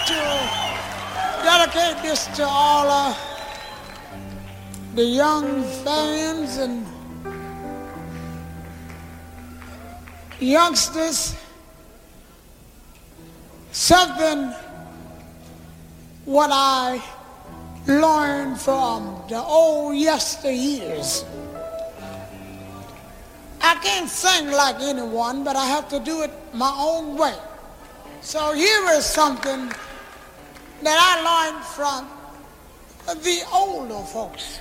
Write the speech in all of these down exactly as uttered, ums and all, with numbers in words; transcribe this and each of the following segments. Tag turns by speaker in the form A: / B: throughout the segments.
A: to dedicate this to all of the young fans and youngsters. Something what I learned from the old yesteryears. I can't sing like anyone, but I have to do it my own way. So here is something that I learned from the older folks.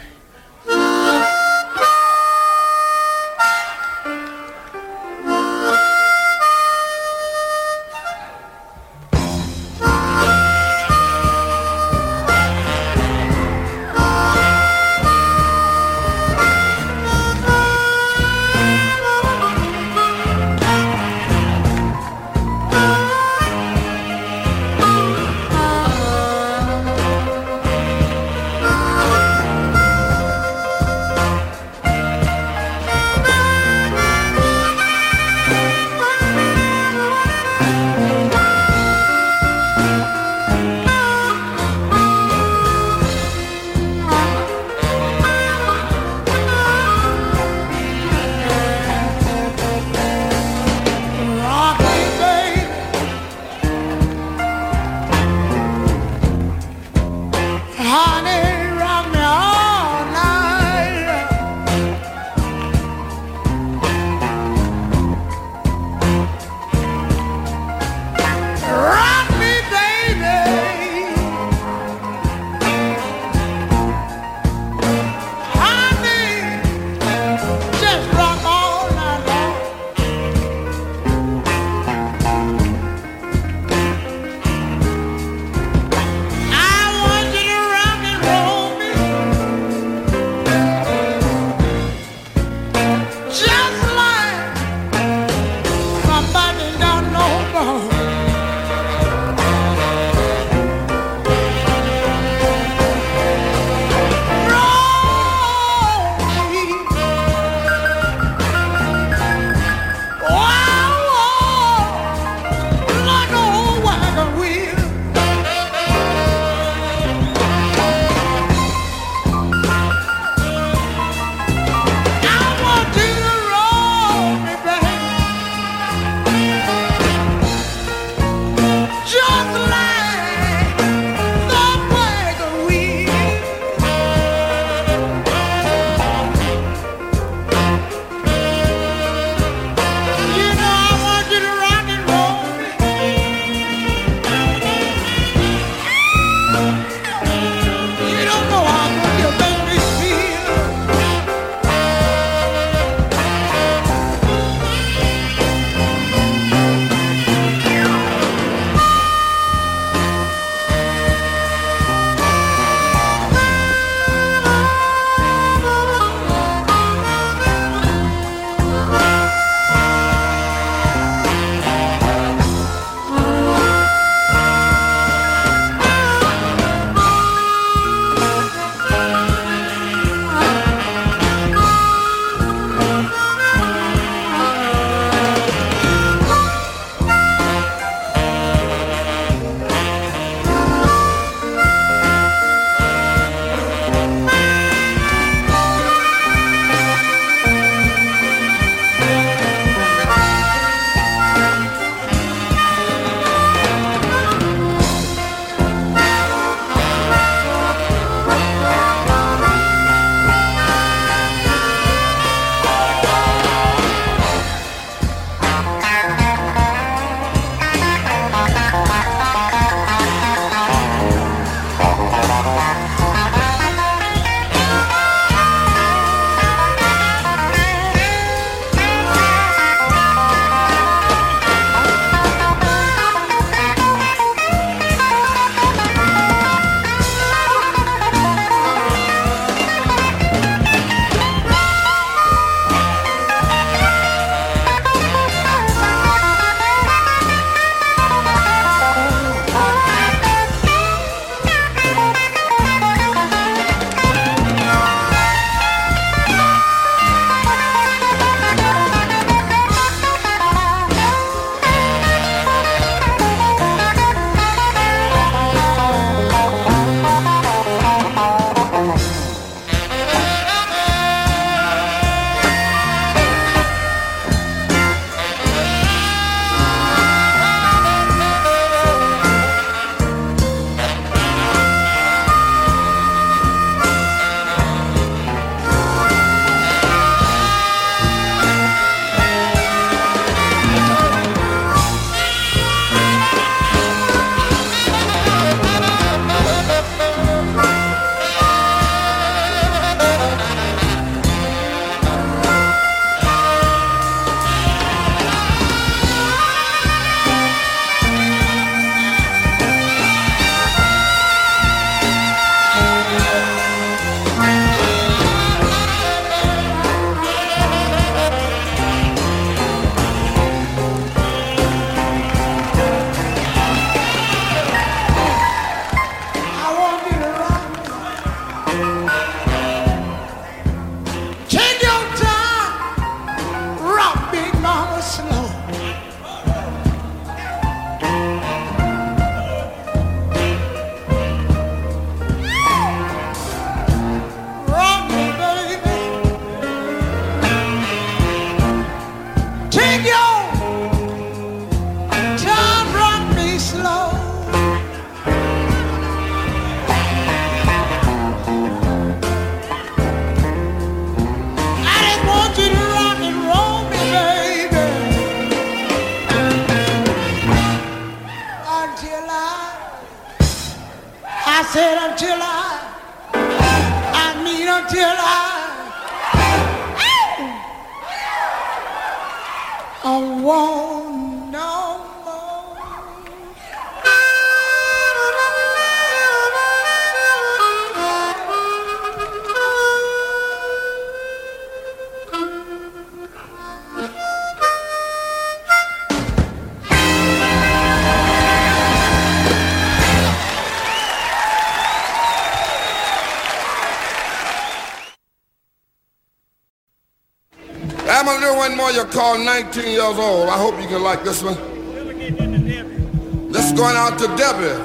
A: said until I, I mean until I, I won't no more.
B: I'm gonna do one more. You're called nineteen years old. I hope you can like this one. This is going out to Debbie.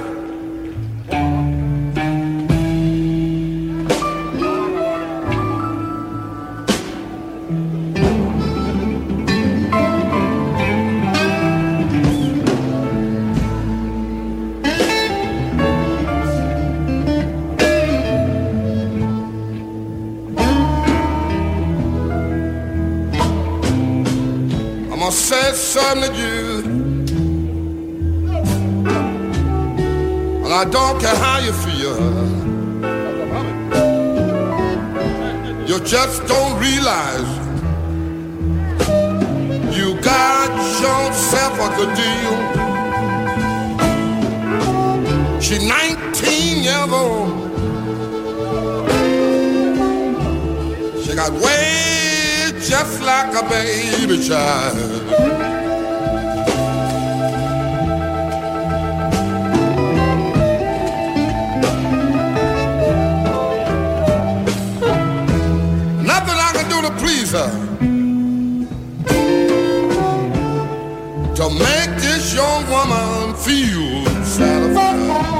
B: I said something to you, and I don't care how you feel. You just don't realize you got yourself a good deal. She's nineteen years old. She got way just like a baby child. Nothing I can do to please her, to make this young woman feel satisfied.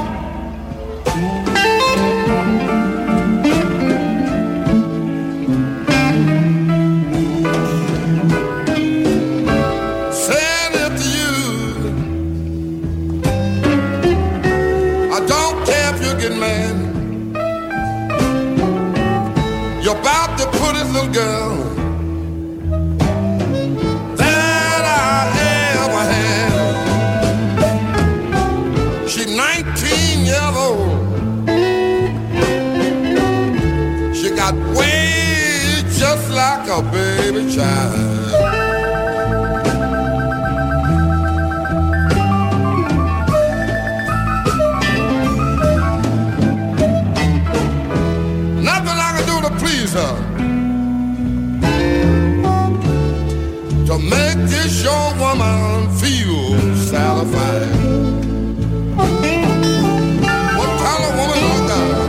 B: You're about to put this little girl that I ever had. She's nineteen years old. She got way just like a baby child. To make this young woman feel satisfied. What kind of woman is that?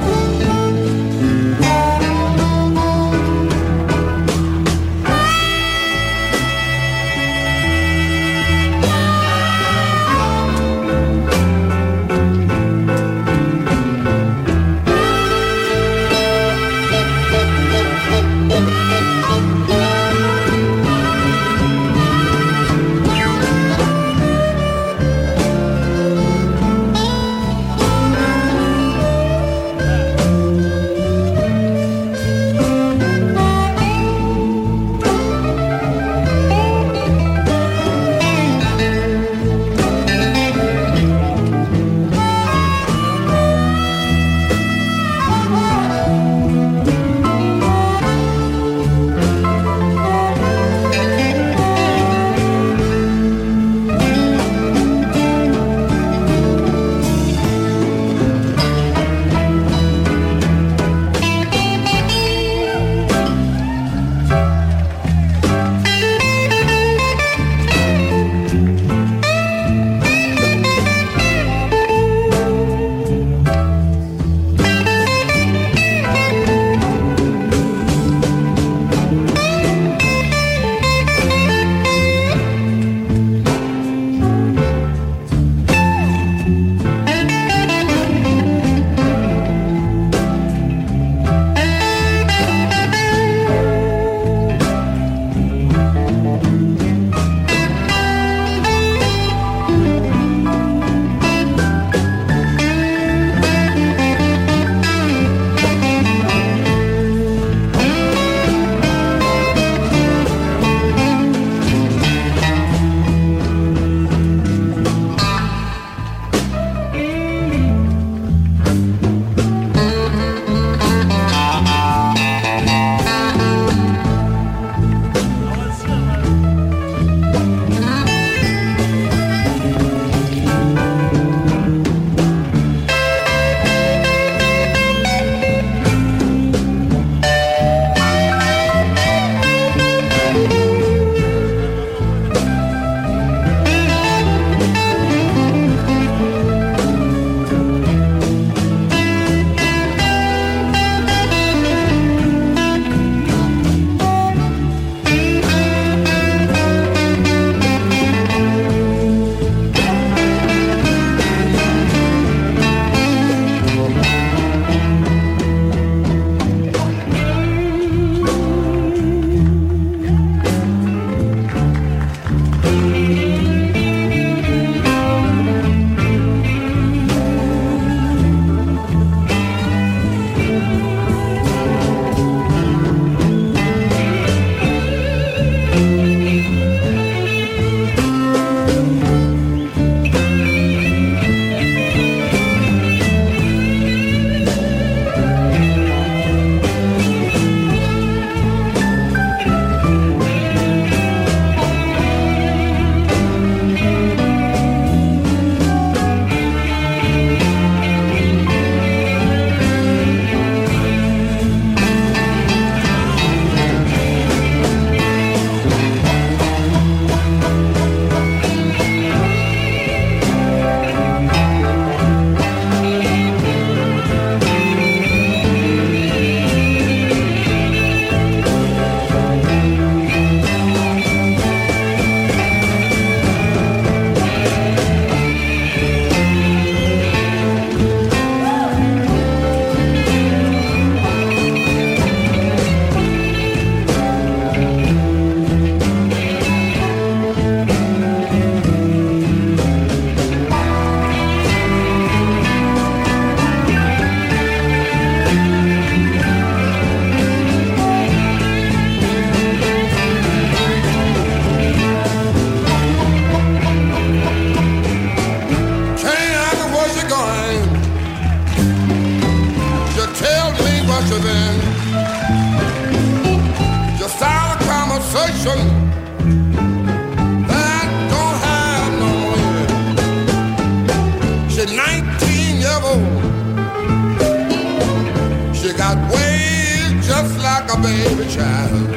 B: baby child.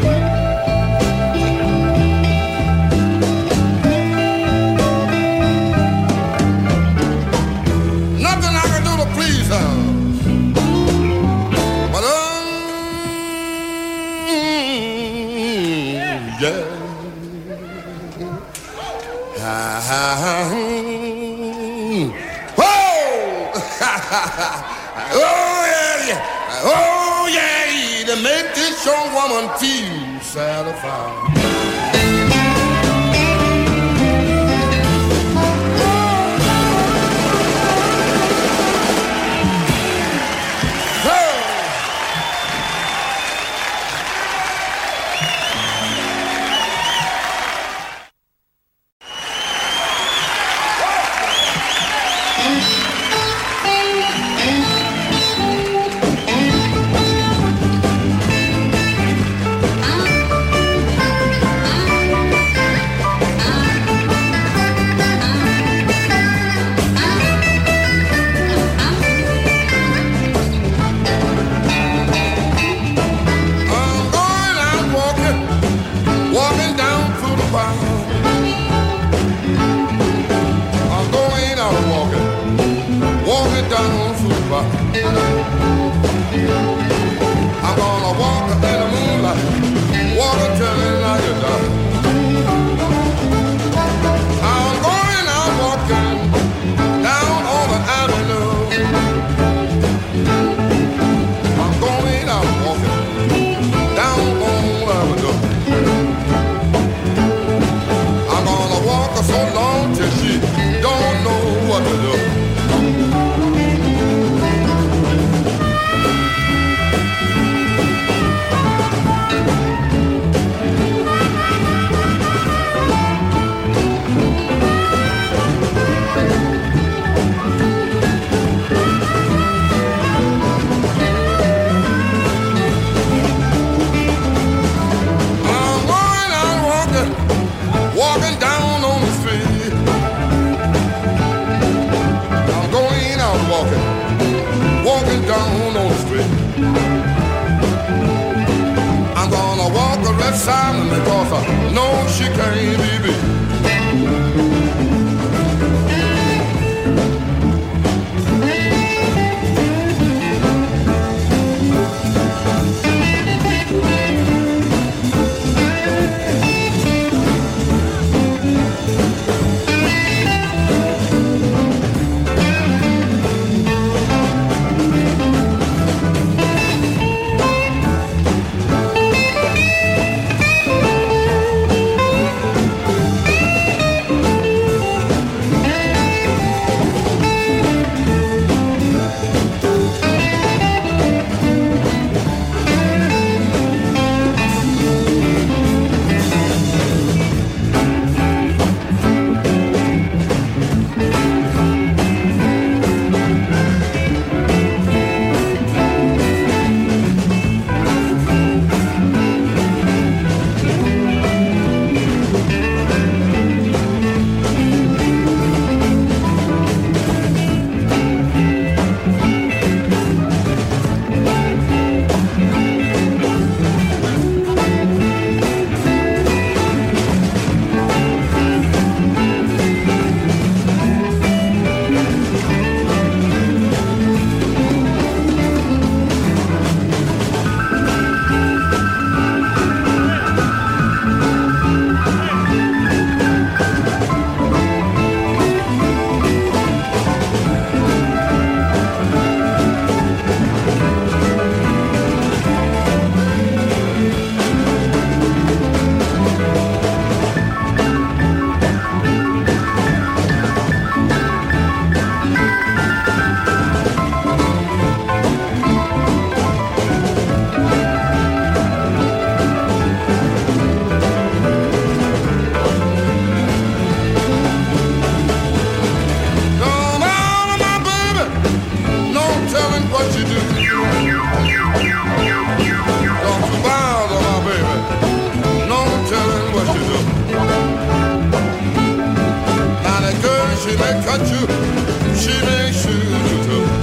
B: Nothing I can do to please her. But um, yeah. Oh yeah, yeah. Oh yeah, to make this young woman feel satisfied. I'm gonna walk in the moonlight, water turning like a dove. I'm going out walking down on the avenue. I'm going out walking down on the avenue. I'm gonna walk her so long till she don't know what to do. Walking down on the street, I'm going out walking, walking down on the street. I'm gonna walk the rest silent because I know she can't be beat. She may cut you, she may shoot you too.